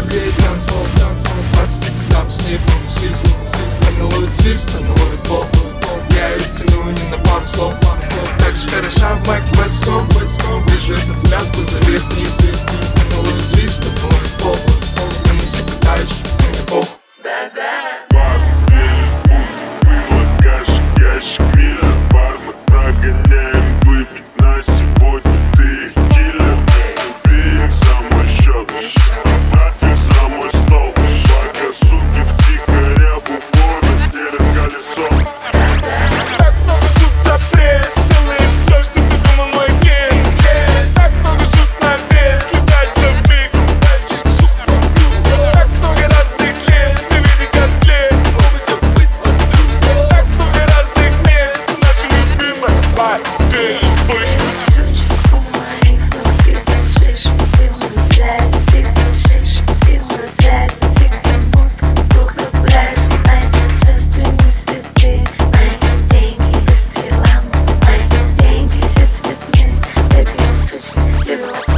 греет танцпол, пацаны там с ней полный свист. Она ловит свист, она ловит пол. Я ее тяну не на пару слов. Так же хороша в майке Войском. Вижу этот взгляд, глаза вверх-вниз. Она ловит свист, она ловит пол. Я на все пытаюсь, мне похуй. Ящик мира, бар мы прогоняем. Выпить на сегодня, ты их киллер. Убей за мой счет, нафиг за мой стол. Пока суки втихаря в упор делят колесо. Так много шут за пресс, делаем все, что ты думал, мой кейс. Так много шут на вес, кидается в миг. Так много разных лес, ты види котлет. Так много разных мест, наша любимая воды. Сучка у моих ног 36, успел на связи. 36, успел на связи. Все как будто долго брать. Мои сестры не святые. Мои деньги без стрелам. Мои деньги все цветные. Эти сучки все в